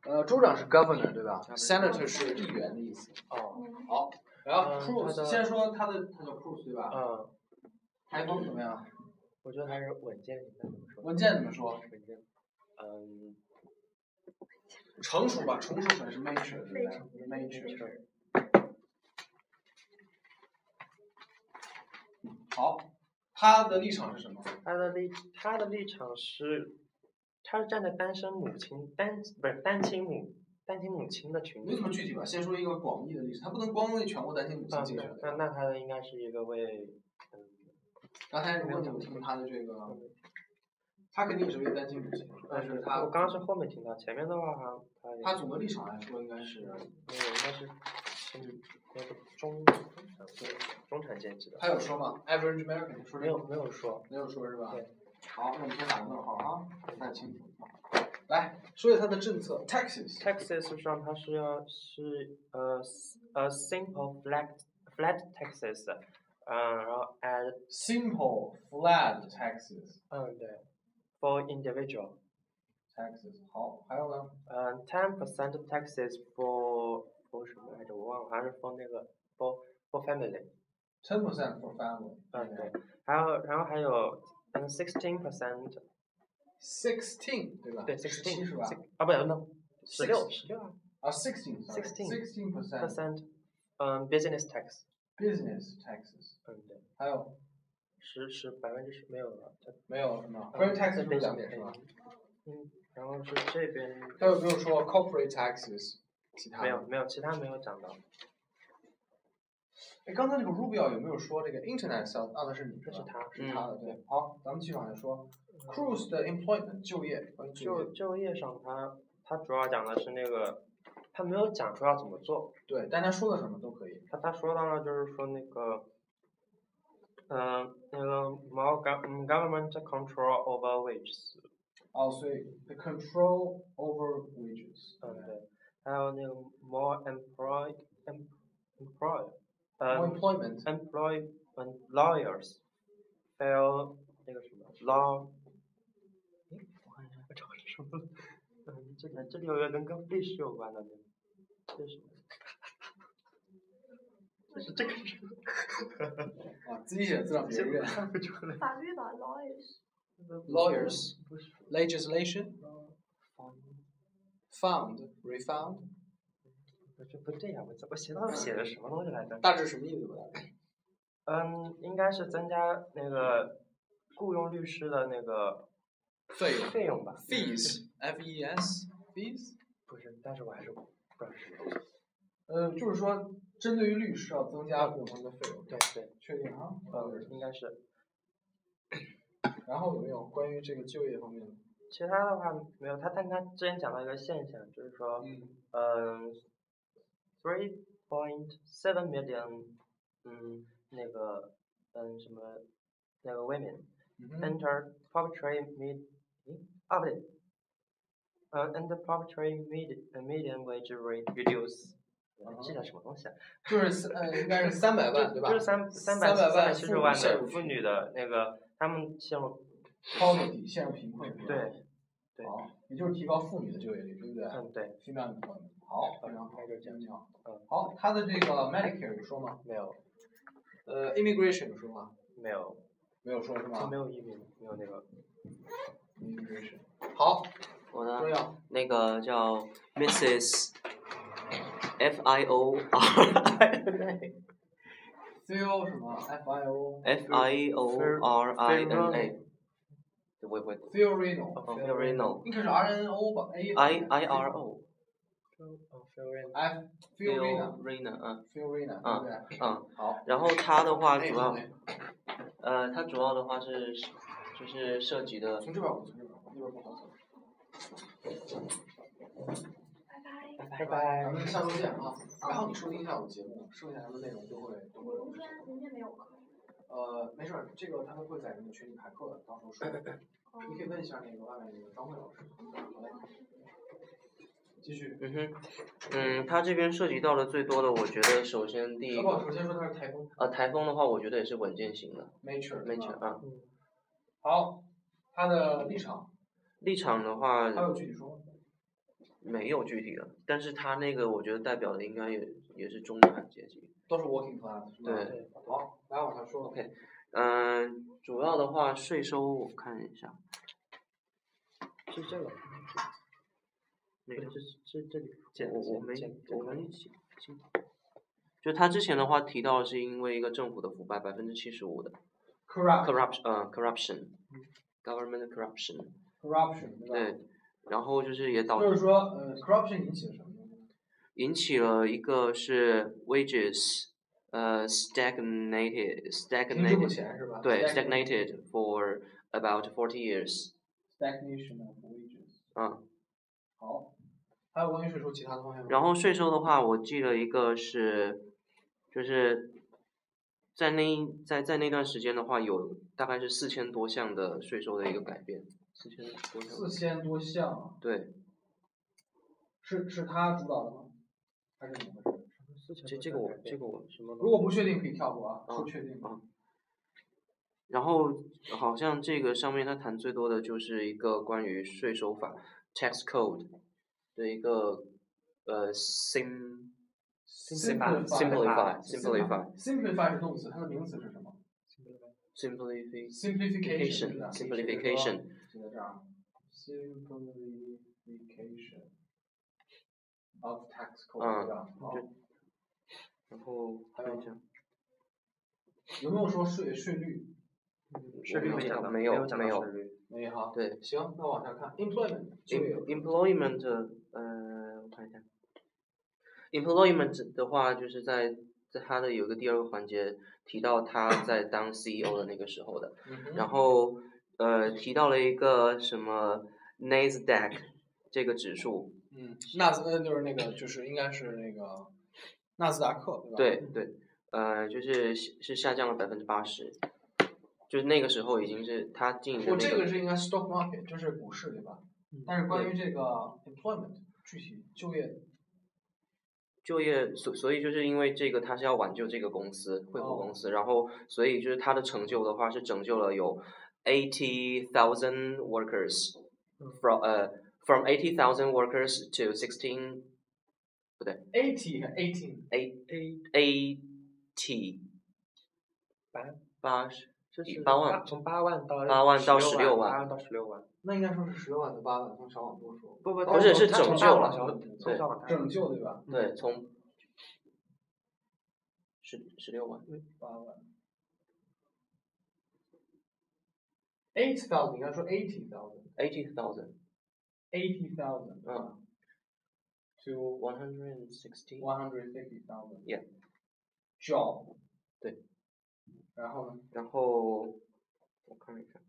州长是 governor 对吧 ？senator 是议员的意思。 哦。 好，然后 Cruz 先说他叫 Cruz 对吧？台风怎么样？ 我觉得还是稳健，怎么说？ 稳健怎么说？ 稳健。 成熟吧，成熟可能是 mature 对不对 ？mature。好，他的立场是什么？ 他的立场是，他是站在单亲母亲的群体。 没这么具体吧？先说一个广义的历史，他不能光为全国单亲母亲竞选。 那他的应该是一个为。 刚才如果你有听他的这个，他肯定也是为单亲母亲，但是他我刚刚是后面听到，前面的话他总的立场来说应该是， 应该是那个中产阶级的。 他有说吗 ？Average American 说没有说， 没有说是吧？对。好，那我们先打个问号啊，不太清楚。来说一下他的政策 ，Texas 上它是simple flat taxes，然后 simple flat taxes， 对 ，for individual taxes， 好，还有呢 ？10% taxes for 什么来着？我忘了，好像是 for 那个 for family。10% for family。 对，然后还有16%。 16对吧？ 对，16 是吧？ 啊，不对，16啊。 16%。 business tax。 business taxes。 对。 还有 10%没有了， 没有是吗 ？corporate tax 是2点是吧？ 然后是这边。 他有没有说 corporate taxes？ 其他没有，其他没有讲到。 哎，刚才那个 Rubio 有没有说这个 internet sales？ 那是你， 这是他的，对。好，咱们继续往下说。Cruz 的 employment 就业， 就业上他主要讲的是那个，他没有讲出要怎么做。 对，但他说的什么都可以。 他说到了就是说那个，那个 more government control over wages。 所以 the control over wages。 对。还有那个 more employment lawyers fail 那个什么 law。我看一下，我找是什么？这里有一个跟历史有关的，这是什么？这个是。 自己写字让别人看不出来。 法律吧 ，lawyers。不是 legislation。found refund。 这不对呀，我写的什么东西来着？ 大致什么意思吧？ 应该是增加那个雇佣律师的那个费用吧 fees。fees。 不是，但是我还是不知道是什么。 就是说针对于律师要增加雇佣他们的费用。 对， 确定啊？ 应该是。 然后有没有关于这个就业方面的？ 其他的话没有，但他之前讲到一个现象，就是说3.7 million 那个什么那个 women enter poverty不对，enter poverty median wage rate reduce。记得什么东西啊？ 就是应该是300万对吧？ 就是370万的妇女的那个，他们陷入 poverty 陷入贫困。 对。 好，也就是提高妇女的就业率，对不对？ 对。 female employment。好，非常好， 就是这样。 好，他的这个 Medicare 有说吗？ 没有。 immigration 有说吗？ 没有。 没有说是吗？ 没有移民，没有那个 immigration。好， 我的那个叫 Mrs. FIORINA。 Phil 什么 FIORINA。 Fiorino 应该是 RNO 吧 IRO。 Fiorina。 Fiorina。 对不对？好。 然后它的话主要，它主要的话就是涉及的。 从这边，那边不好走。 拜拜。 咱们下周见啊！然后你收听一下我的节目，剩下的内容都会有。 明天没有课。 没事儿，这个他们会在你们群里排课的，到时候说。你可以问一下那个外面那个张慧老师。好嘞。继续。 它这边涉及到的最多的，我觉得首先第一个。 首先说它是台风。 台风的话，我觉得也是稳健型的。 Nature 啊。 好，他的立场。 立场的话。 他有具体说吗？ 没有具体的，但是它那个我觉得代表的应该也是中产阶级。 都是 working class 是吧？ 对。 好，来往下说。 OK，主要的话税收我看一下， 是这个， 那个这里， 我们一起，就他之前的话提到是因为一个政府的腐败75%的 corruption government corruption 对，然后就是也导致就是说corruption 引起了什么？ 引起了一个是 wages stagnated 对 stagnated for about 40 years stagnation of wages 好，还有关于税收其他的方面吗？ 然后税收的话我记了一个是就是在那段时间的话有大概是4000多项的税收的一个改变 4000多项对是他主导的吗？还是怎么回事？ 这个我什么？ 如果不确定可以跳过啊，说确定。 然后好像这个上面他谈最多的就是一个关于税收法 tax code 的一个simplify 是动词，它的名词是什么 simplification 写在这儿 simplification of tax code 对吧？ 然后看一下有没有说税率？ 税率没有哈。 对， 行，那往下看 employment 我看一下 employment 的话就是在他的有个第二个环节提到他在当 CEO 的那个时候的，然后提到了一个什么 NASDAQ 这个指数， 就是那个就是应该是那个纳斯达克对吧？对，就是下降了80%，就是那个时候已经是他进的这个是应该 stock market 就是股市对吧？但是关于这个 employment 具体就业，所以就是因为这个，他是要挽救这个公司，惠普公司，然后所以就是他的成就的话是拯救了有80,000 workers from 80,000 workers to 16， 不对 80和18 8万， 从8万到 16万， 到16万。 那应该说是16万到8万，从小往多说。 不是拯救了， 对， 拯救对吧？ 对，从16万 ，8万。80,000应该说80,000。 80,000。 to 160,000 yeah job 对， 然后呢？ 然后我看一看，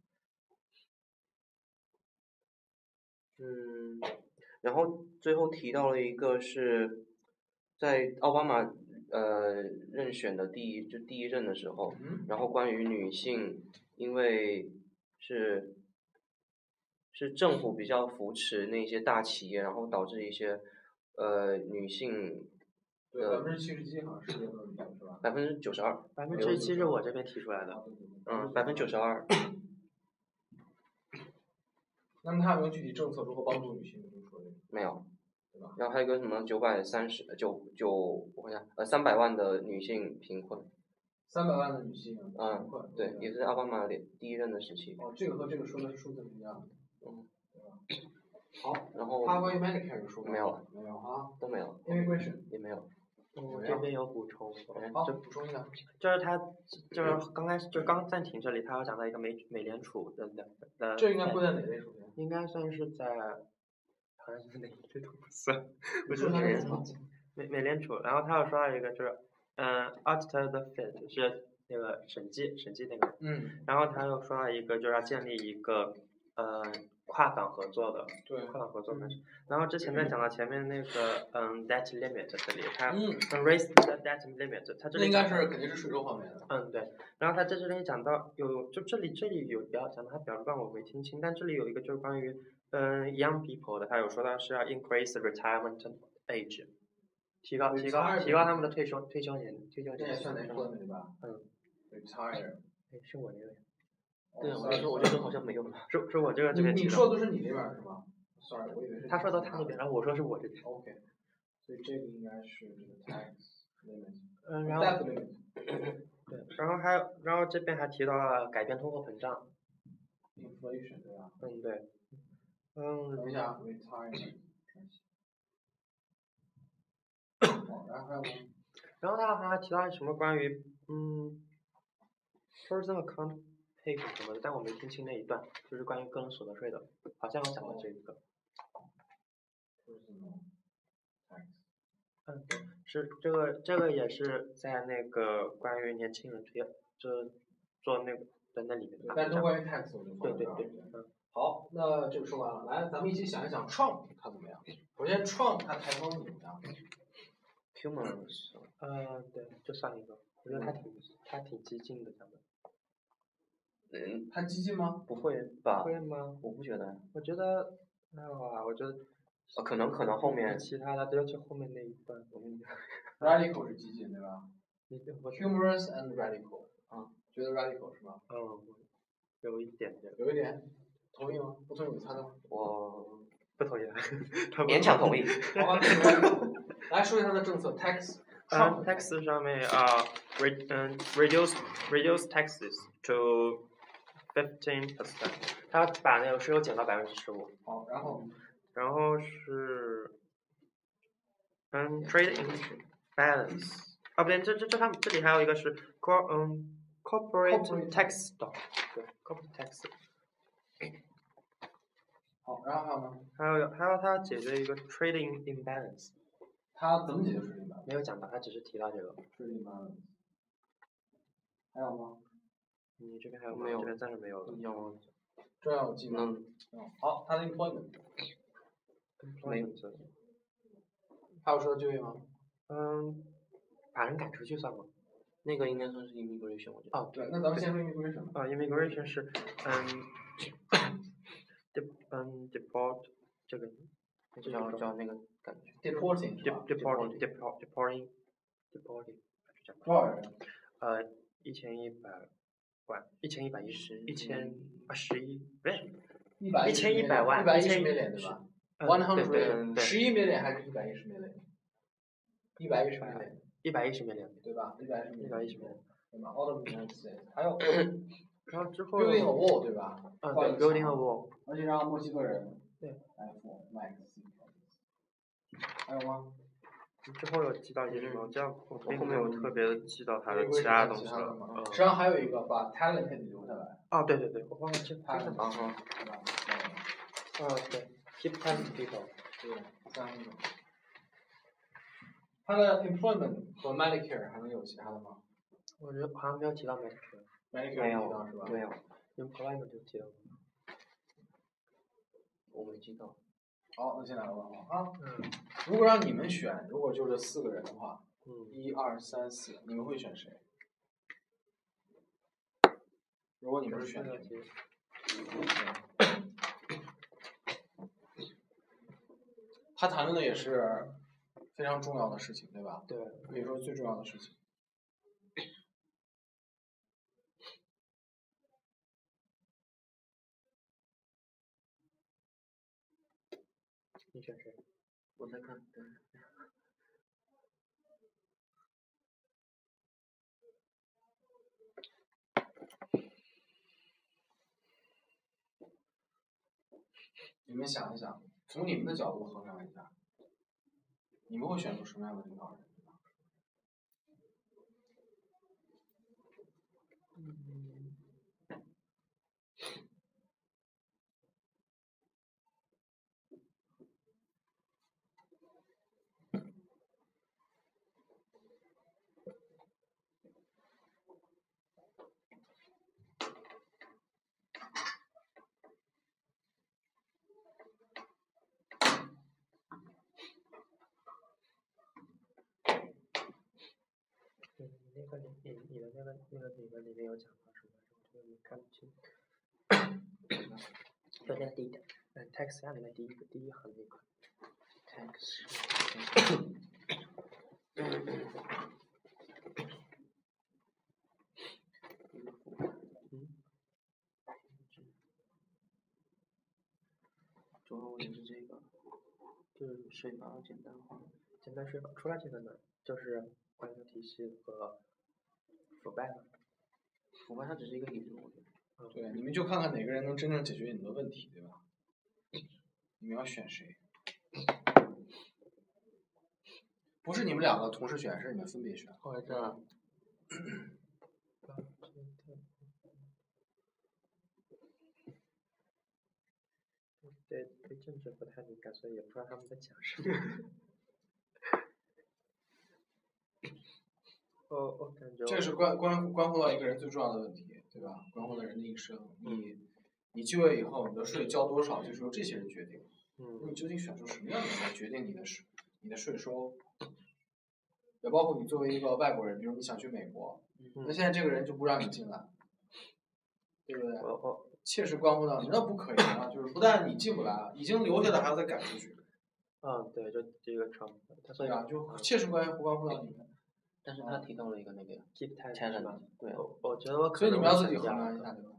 然后最后提到了一个是在奥巴马任选的第一任的时候，然后关于女性，因为是政府比较扶持那些大企业，然后导致一些女性对77%好像是这个女性是吧 ？92%。 97%是我这边提出来的。 92%。 那么他有没有具体政策如何帮助女性？ 没有。 对吧？ 然后还有个什么我看一下300万的女性贫困。 300万的女性贫困。 对，也是奥巴马第一任的时期。 这个和这个说的是数字是一样的。对吧？好， 然后他关于 Medicare 有说没有了。 没有啊？ 都没有。 Immigration 也没有。 我这边有补充。 好，补充一下。 就是他就是刚暂停这里，他要讲到一个美联储的。 这应该归在哪类属性？ 应该算是在，好像是哪一类都不算。 不是美联储。 美联储，然后他又说到一个就是auditor the Fed 是那个审计那个。然后他又说到一个就是要建立一个跨党合作的。 对。 跨党合作的。然后之前在讲到前面那个debt limit 这里，他raise the debt limit， 他这里应该是肯定是税收方面的。 对。然后他在这里讲到这里有讲到他表段我没听清，但这里有一个就是关于young people 的，他有说到是要 increase retirement age， 提高他们的退休年。 这也算employment对吧？retire。 是我这个。 对，我觉得好像没有了。 是我这个。 你说的都是你那边是吧？ ，sorry， 我以为是他说到他那边，然后我说是我这边。 OK， 所以这个应该是这个 tax limit。 然后 debt limit。 对，然后这边还提到了改变通货膨胀。 inflation 对吧？ 对。 等一下 retirement。好，然后还有吗？ 然后他还提到什么关于personal account pay 什么的，但我没听清那一段，就是关于个人所得税的，好像有讲到这个。 personal tax。 对，是这个也是在那个关于年轻人做那个在那里面。 但都关于 tax 我就放在这儿。 对。 好，那这个说完了，来，咱们一起想一想 Trump 他怎么样？首先 Trump 他台风怎么样 ？humorous。 对，就算一个，我觉得他挺激进的，讲的。 他激进吗？ 不会吧？ 会吗？ 我不觉得。 我觉得，我觉得。 可能后面。 其他的，尤其后面那一段，我跟你讲。 radical 是激进对吧？humorous and radical。觉得 radical 是吧？ 有一点。 有一点，同意吗？不同意我猜的吗？ 我不同意。 勉强同意。 好吧，来说一下他的政策 tax。 tax 上面reduce taxes to 15%，他把那个税收减到15%。 好， 然后是trade imbalance。不对，他们这里还有一个是corporate tax 的，对 corporate tax。 好，然后还有呢？ 还有他解决一个 trading imbalance。 他怎么解决 trading imbalance？ 没有讲到，他只是提到这个 trading imbalance。还有吗？ 你这边还有吗？ 没有， 这边暂时没有了。 有。 这样有记吗？好，他的 employment。 没有。 还有说就业吗？ 把人赶出去算吗？ 那个应该算是 immigration， 我觉得。 对，那咱们先说 immigration。 immigration 是deport 这个叫那个感觉。 deporting 是吧 ？deporting。 多少人 ？1100万，1111，不对 ，1100万，110 million 对吧？100 11 million 还是110 million？110 million。对吧？110 million。对吧 ？All of the United States。还有。 然后之后。 building a wall 对吧？ 对 ，building a wall。 而且让墨西哥人。 对。 来付 max。还有吗？ 之后有记到一些什么？这样我并没有特别的记到他的其他东西了。 实际上还有一个把 talented 留下来。 对，我忘了这。 talent。 对 ，keep talented people。 对，3种。他的 employment 和 Medicare 还能有其他的吗？ 我觉得好像没有提到 Medicare。 没提到是吧？ 没有。 employment 就提到了。 我没记到。 好，那现在我问啊。如果让你们选，如果就这4个人的话，1、2、3、4，你们会选谁？如果你们是选谁？他谈论的也是非常重要的事情，对吧？ 对， 可以说最重要的事情。 你选谁？ 我在看。 你们想一想，从你们的角度衡量一下，你们会选出什么样的领导人？ 你的里面有讲到什么？我没看不清。对，那第一点，tax 下面的第一行那个 tax。主要问题是这税法简单化。 简单税法除了这个呢，就是官僚体系和腐败了。 腐败它只是一个引子，我觉得。 对，你们就看看哪个人能真正解决你们的问题，对吧？你们要选谁？不是你们两个同时选，是你们分别选。 哦，这样。对政治不太敏感，所以也不知道他们在讲什么。我感觉这是关乎到一个人最重要的问题，对吧？关乎到人的一生。你就业以后，你的税交多少，就是由这些人决定。你究竟选出什么样的人来决定你的税收？也包括你作为一个外国人，比如你想去美国，那现在这个人就不让你进来，对不对？切实关乎到你，那不可以啊！就是不但你进不来，已经留下的还要再赶出去。 对，就这个Trump， 对啊，就切实关乎到你们。 但是他提到了一个那个 keep talent， 对， 我觉得所以你们要自己衡量一下，对吧？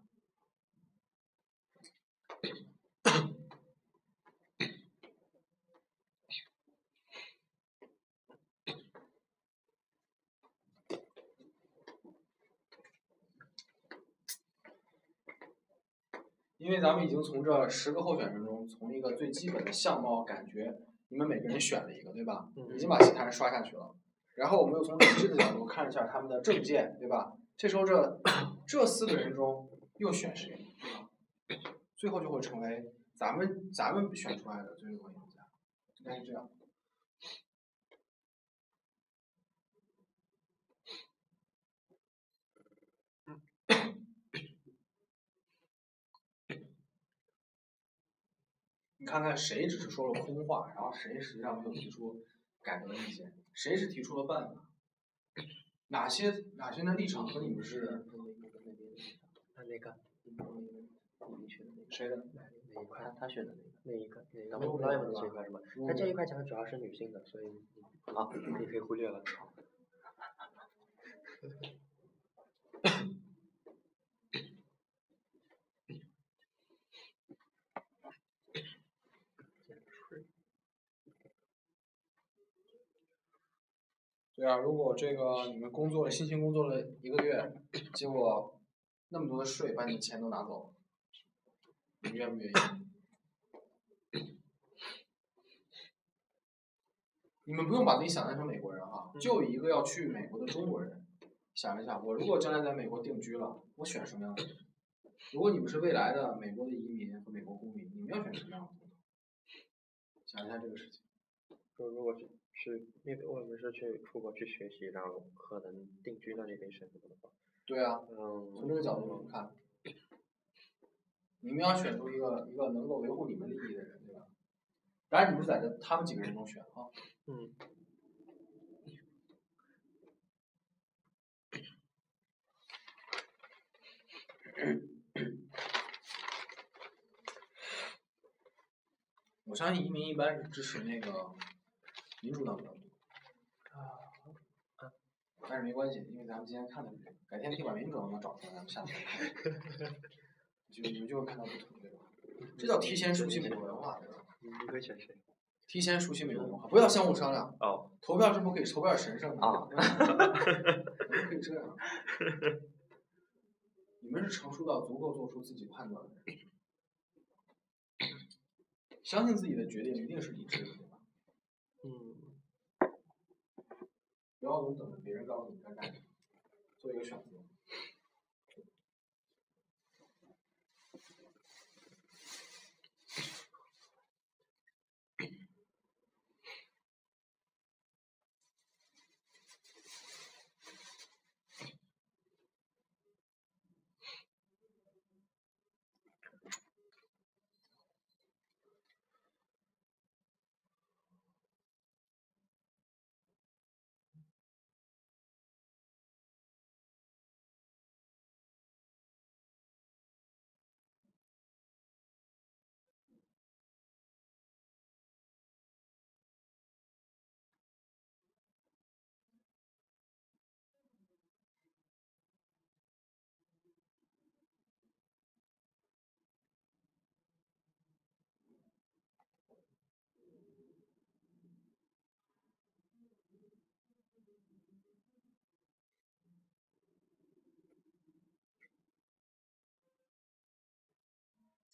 因为咱们已经从这10个候选人中，从一个最基本的相貌感觉，你们每个人选了一个，对吧？已经把其他人刷下去了。然后我们又从理智的角度看一下他们的政见，对吧？这时候这4个人中又选谁，对吧？最后就会成为咱们选出来的最终赢家，应该是这样。你看看谁只是说了空话，然后谁实际上没有提出改革意见，谁是提出了办法？哪些的立场和你们是？ 那个， 谁的？ 哪一块？ 他选的那一个？咱们不知道这一块是吧？他这一块讲的主要是女性的，所以你可以忽略了。 对啊，如果这个你们辛勤工作了1个月，结果那么多的税把你的钱都拿走了，你愿不愿意？你们不用把自己想象成美国人哈，就一个要去美国的中国人，想一想，我如果将来在美国定居了，我选什么样的人？如果你们是未来的美国的移民和美国公民，你们要选什么样的工作？想一下这个事情。 如果因为我们是出国去学习，然后可能定居到那边生活的话。 对啊，从这个角度看，你们要选出一个能够维护你们利益的人，对吧？当然，你们是在他们几个人中选啊。我相信移民一般是支持那个民主党比较多。但是没关系，因为咱们今天看的是这个，改天可以把民主党找出来，咱们下次看。你们就会看到不同，对吧？这叫提前熟悉美国文化，对吧？ 你会选谁？ 提前熟悉美国文化，不要相互商量。投票是不可以，投票神圣的。不可以这样。你们是成熟到足够做出自己判断的人，相信自己的决定一定是理智的，对吧？不要总等着别人告诉你该干什么，做一个选择。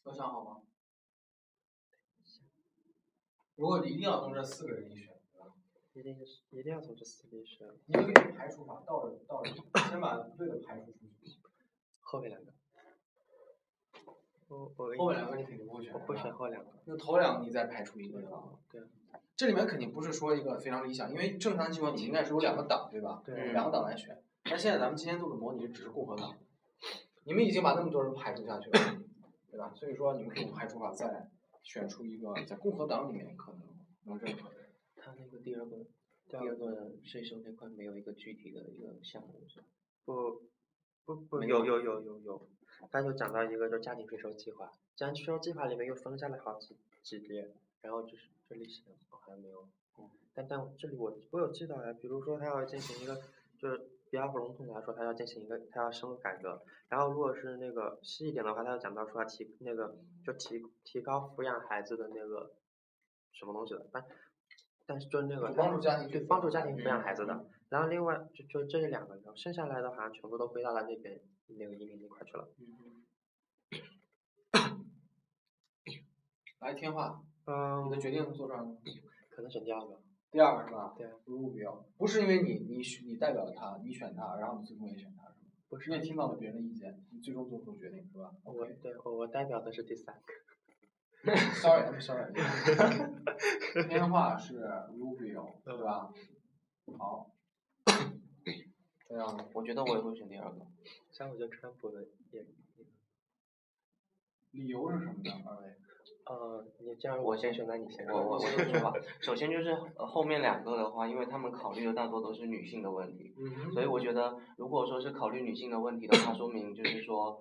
都想好吗？如果一定要从这4个人里选，对吧？ 一定要从这4个里选。 你们给排除法，倒着，先把不对的排除出去。 后面2个。 后面2个你肯定不会选。 我会选后2个。 那头2个你再排除一个，对吧？ 对。 这里面肯定不是说一个非常理想，因为正常情况你应该是有2个党，对吧？ 对。 2个党来选。但现在咱们今天做的模拟只是共和党，你们已经把那么多人排除下去了，对吧？所以说你们可以排除法再选出一个在共和党里面可能认可的。 他那个第二个税收那块没有一个具体的一个项目是吧？ 不，有。他就讲到一个，就家庭税收计划，家庭税收计划里面又分下了好几列，然后就是这里写的我还没有，但这里我有记到呀，比如说他要进行一个，就是比较笼统来说，他要进行一个，他要深入改革，然后如果是那个细一点的话，他要讲到说提高抚养孩子的那个什么东西的，但是就是那个帮助家庭抚养孩子的，然后另外就这2个，然后剩下来的好像全部都归到了那边那个移民那块去了。 来天化，你的决定做出来了？ 可能选第2个。 第2个是吧？ 对。 Rubio，不是因为你代表他，你选他，然后你最终也选他，是吧？ 不是。 你也听到了别人的意见，你最终做出决定，是吧？ 我代表的是第3个。 I'm sorry。天化是 Rubio， 对吧？好。这样， 我觉得我也会选第2个。 像我觉得川普的也。 理由是什么呢？2位？ 你这样我先选，那你先。 我先说吧。首先就是后面2个的话，因为他们考虑的大多都是女性的问题，所以我觉得如果说是考虑女性的问题的话，说明就是说，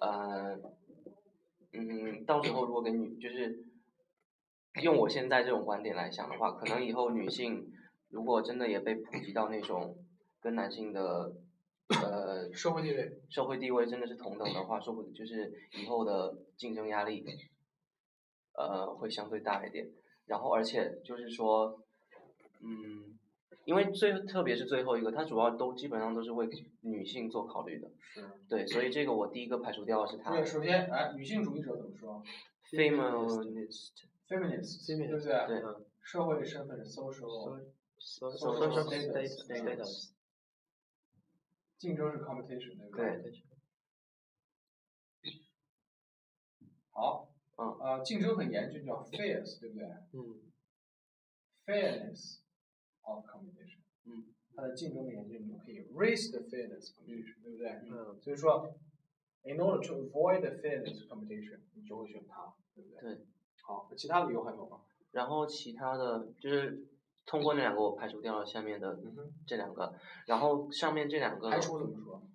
到时候如果跟就是用我现在这种观点来想的话，可能以后女性如果真的也被普及到那种跟男性的社会地位真的是同等的话，说不定就是以后的竞争压力会相对大一点。然后而且就是说，因为特别是最后一个，它主要基本上都是为女性做考虑的。 是。 对，所以这个我第一个排除掉的是它。 对，首先，女性主义者怎么说 ？Feminist， 对不对？ 对。 社会身份 social status。 竞争是 competition， 对不对？ 对。 好。竞争很严峻，叫 fierce， 对不对？Fairness of competition。它的竞争的严峻，你可以 raise the fairness competition， 对不对？所以说 ，in order to avoid the fairness competition， 你就会选它，对不对？ 对。 好，其他的理由还有吗？ 然后其他的就是通过那2个我排除掉了下面的这2个，然后上面这2个排除怎么说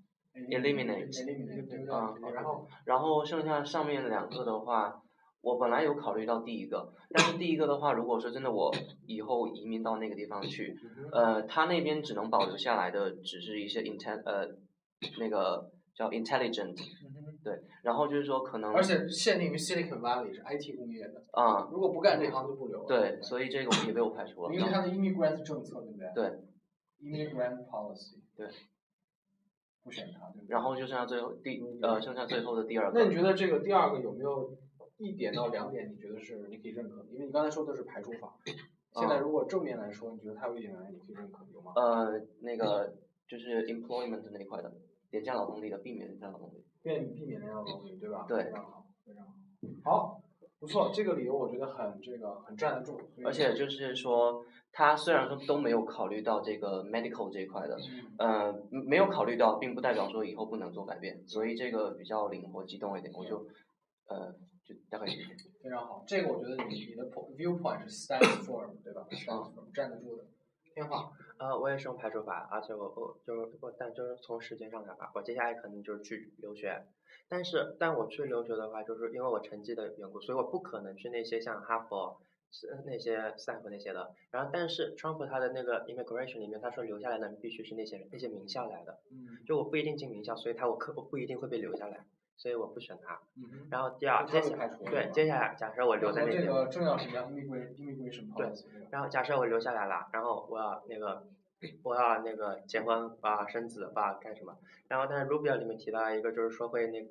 ？Eliminate。然后剩下上面2个的话，我本来有考虑到第1个，但是第1个的话，如果说真的我以后移民到那个地方去，他那边只能保留下来的只是一些那个叫 intelligent。对，然后就是说可能， 而且限定于 Silicon Valley 是 IT 工业的，如果不干这行就不留了。 对，所以这个也被我排除了。 因为它的 immigrant 政策，对不对？ 对。 immigrant policy。 对。 不选它，对不对？ 然后就剩下最后剩下最后的第2个。 那你觉得这个第2个有没有1点到2点你觉得是你可以认可的？因为你刚才说的是排除法，现在如果正面来说，你觉得它有1点你可以认可，有吗？ 那个就是 employment 那一块的，廉价劳动力的，避免廉价劳动力。避免廉价劳动力，对吧？ 对。 非常好，非常好。好，不错，这个理由我觉得很站得住。 而且就是说，他虽然说都没有考虑到这个 medical 这一块的，没有考虑到，并不代表说以后不能做改变，所以这个比较灵活机动一点，我就大概理解。 非常好，这个我觉得你的 viewpoint 是 stands firm， 对吧？stands firm， 站得住的。天化。 我也是用排除法，而且但就是从时间上来吧，我接下来可能就是去留学，但我去留学的话，就是因为我成绩的缘故，所以我不可能去那些像哈佛、那些斯坦福那些的。然后，但是 Trump 他的那个 immigration 里面，他说留下来的人必须是那些名校来的，就我不一定进名校，所以我不一定会被留下来，所以我不选他。然后接下来假设我留在那边， 这个重要是 immigration policy。 对，然后假设我留下来了，然后我要那个结婚，生子，干什么？然后但是 Rubio 里面提到一个，就是说会那个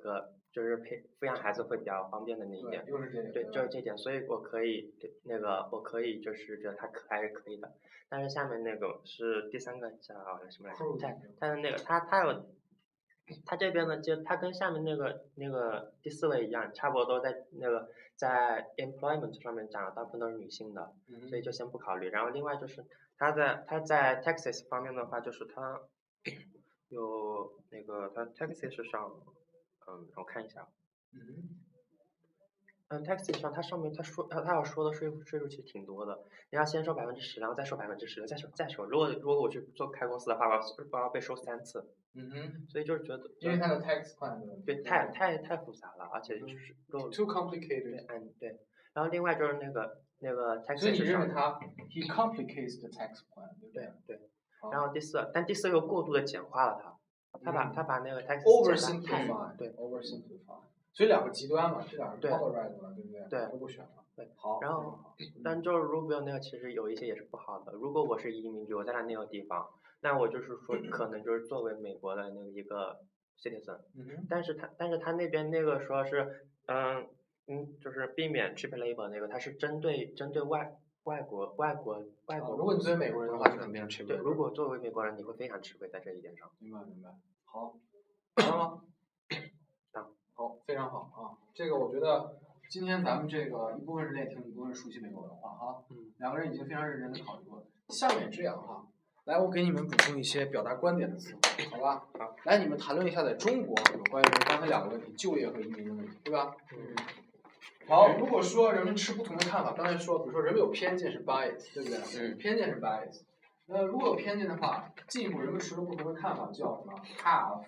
就是抚养孩子会比较方便的那一点。对，就是这点，所以我可以就是觉得他还是可以的。但是下面那个是第3个叫什么来着？他的那个他这边呢，就他跟下面那个第4位一样，差不多在 employment 上面讲的大部分都是女性的，所以就先不考虑。然后另外就是他在 Texas 方面的话，就是他有那个他 Texas 上，我看一下。Texas 上它上面他要说的税数其实挺多的，你要先收10%，然后再收10%，再收。如果我去开公司的话，我要被收3次。所以就是觉得， 因为它的 tax plan 对，太复杂了，而且就是 too complicated。 对。然后另外就是那个 Texas 上， 所以你认为he complicates the tax plan， 对不对？ 对。然后第4又过度的简化了它，他把那个 tax oversimplify， 对 oversimplify。所以2个极端嘛，这2个 polarized 嘛，对不对？ 对， 都不选了。 对， 好。 然后，但就是 Rubio 那个其实有一些也是不好的。如果我是移民局，我在那个地方，那我就是说可能就是作为美国的那个一个 citizen，但是他那边那个说是，就是避免 cheap labor 那个，他是针对外国。 如果你作为美国人的话，就肯定吃亏。 对，如果作为美国人，你会非常吃亏在这一点上。 明白。好，完了吗？好，非常好啊！这个我觉得今天咱们这个一部分是练听，一部分是熟悉美国文化哈。2个人已经非常认真的考虑过了。下面这样哈，来，我给你们补充一些表达观点的词汇，好吧？好，来，你们谈论一下在中国有关于刚才2个问题，就业和移民的问题，对吧？好，如果说人们持不同的看法，刚才说，比如说人们有偏见是 bias， 对不对？偏见是 bias。那如果有偏见的话，进一步人们持不同的看法叫什么 ？have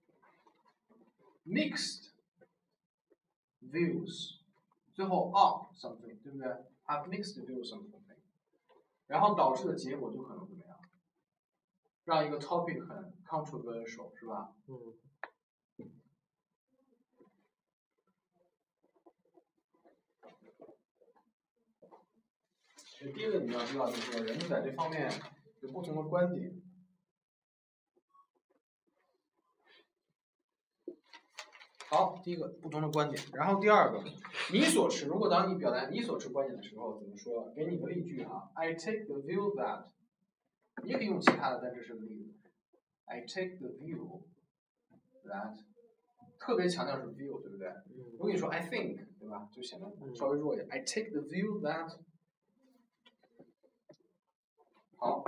mixed views， 最后 on something， 对不对 ？have mixed views on something， 然后导致的结果就可能怎么样？让一个 topic 很 controversial， 是吧？第一个你们要知道，就是说人们在这方面有不同的观点。好，第一个不同的观点，然后第2个，你所持。如果当你表达你所持观点的时候，怎么说？给你个例句哈 ，I take the view that， 你也可以用其他的，但这是个例子。I take the view that， 特别强调是 view， 对不对？如果你说 I think， 对吧？就显得稍微弱一点。I take the view that， 好，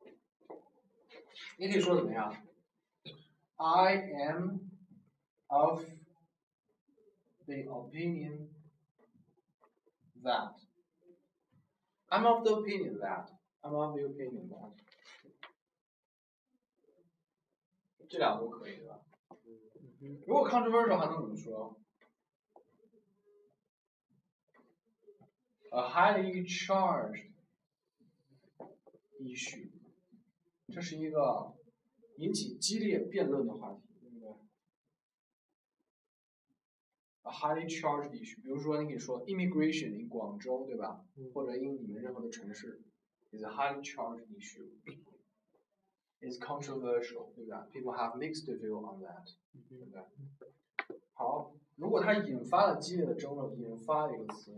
你可以说怎么样 ？I am of the opinion that. I'm of the opinion that. I'm of the opinion that. 这2个都可以，对吧？如果 controversial 还能怎么说 ？A highly charged issue， 这是一个引起激烈辩论的话题。A highly charged issue， 比如说你可以说 immigration in 广州，对吧？或者 in 你们任何的城市 is a highly charged issue， is controversial， 对吧 ？People have mixed view on that， 对不对？好，如果它引发了激烈的争论，引发了一个词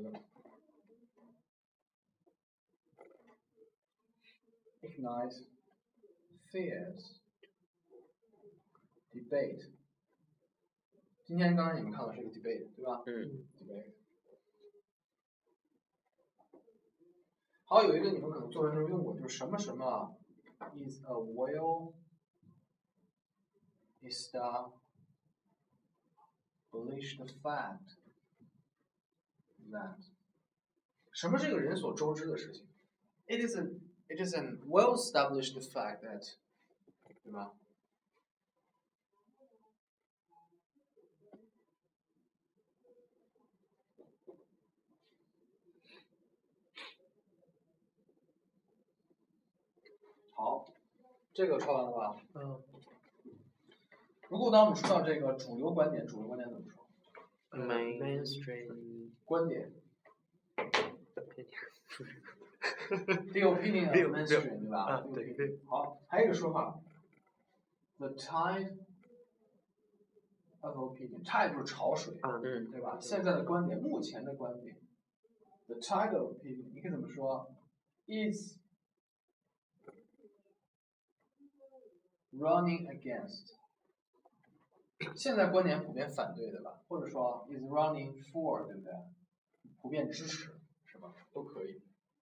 ，ignite fierce debate。今天刚才你们看到是一个 debate， 对吧？debate。好，有一个你们可能作文中用过，就是什么什么 is a well established fact that， 什么是一个人所周知的事情 ？It is an well established fact that， 对吧？好，这个抄完了吧？如果当我们说到这个主流观点怎么说 ？Mainstream 观点。The opinion of mainstream， 对吧？ 对。 好，还有一个说法 ，the tide of opinion， tide 就是潮水，对吧？现在的观点，目前的观点 ，the tide of opinion， 你可以怎么说 ？is running against， 现在观点普遍反对的吧，或者说 is running for， 对不对？普遍支持，是吧？都可以。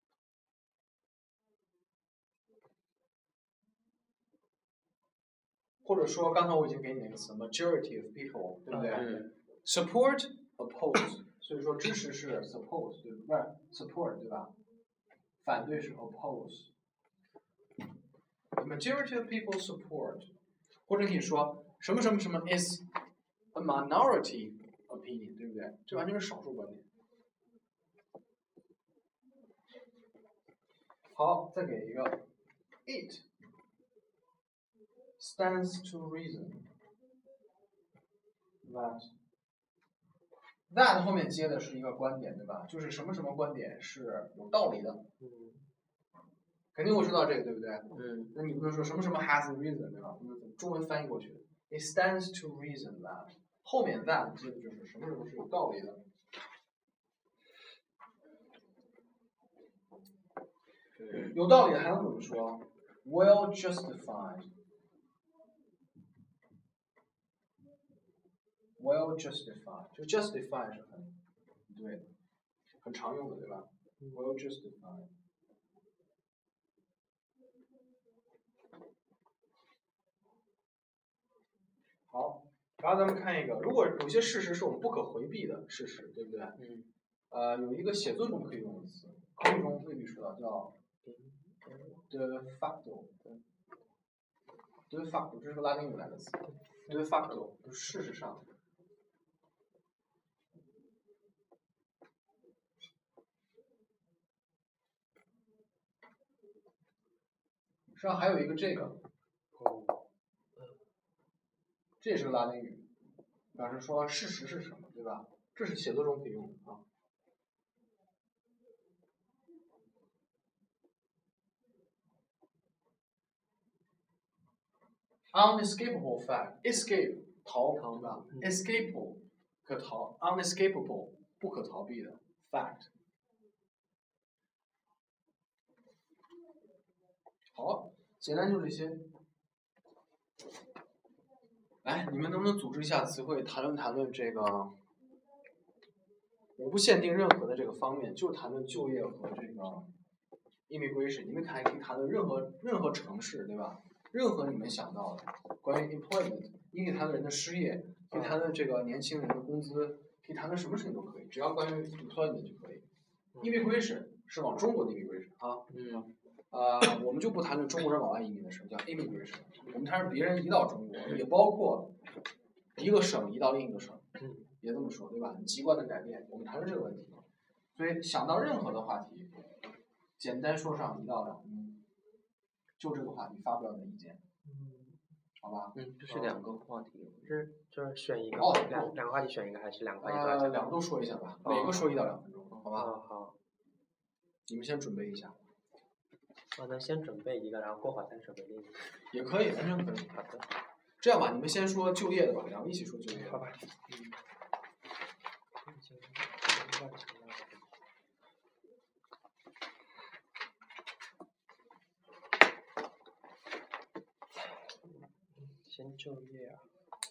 或者说，刚才我已经给你那个词 majority of people， 对不对？support oppose， 所以说支持是 support， 对不对？ support 对吧？反对是 oppose。majority of people support， 或者可以说什么什么什么 is a minority opinion， 对不对？这完全是少数观点。好，再给一个 it stands to reason that 后面接的是一个观点，对吧？就是什么什么观点是有道理的。肯定会说到这个，对不对？那你不能说什么什么 has a reason， 对吧？中文翻译过去 ，it stands to reason that 后面 that 接的就是什么什么是有道理的。有道理的还能怎么说 ？Well justified。Well justified， 就 justify 是很对的，很常用的，对吧 ？Well justified。好，然后咱们看一个，如果有些事实是我们不可回避的事实，对不对？有一个写作中可以用的词，口语中未必说到，叫 de facto。de facto 这是个拉丁语来的词 ，de facto 就是事实上。实际上还有一个这个，这也是个拉丁语，表示说事实是什么，对吧？这是写作中可以用的啊。unescapable fact， escape 逃，对吧？escapable 可逃 ，unescapable 不可逃避的 fact。好，简单就这些。来，你们能不能组织一下词汇，谈论这个？我不限定任何的这个方面，就谈论就业和这个 immigration。你们可以谈论任何城市，对吧？任何你们想到的关于 employment， 你可以谈论人的失业，可以谈论这个年轻人的工资，可以谈论什么事情都可以，只要关于 employment 就可以。immigration 是往中国的 immigration 啊，我们就不谈论中国人往外移民的事，叫 immigration。我们谈论别人移到中国，也包括一个省移到另一个省，也这么说，对吧？籍贯的改变，我们谈论这个问题。所以想到任何的话题，简单说上1到2分，就这个话题发表你的意见，好吧？ 这是2个话题， 就是选一个，两个话题选一个，还是2个话题都要讲 ？2个都说一下吧，每个说1到2分钟，好吧？ 好。 你们先准备一下。 那先准备一个，然后过会儿再准备另一个。 也可以，完全可以。 好的。 这样吧，你们先说就业的吧，2个一起说就业。 好吧。先就业啊。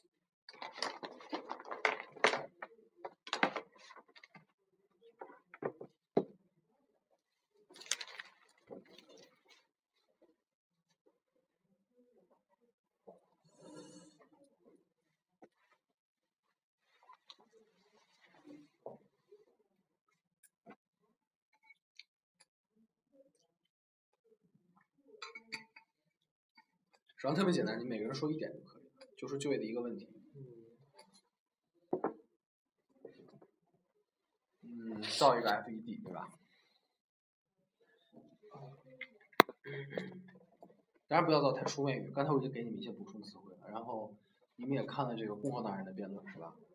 实际上特别简单，你每个人说1点就可以了，就说就业的一个问题。造一个 FED， 对吧？当然不要造太书面语，刚才我已经给你们一些补充词汇了，然后你们也看了这个共和党人的辩论，是吧？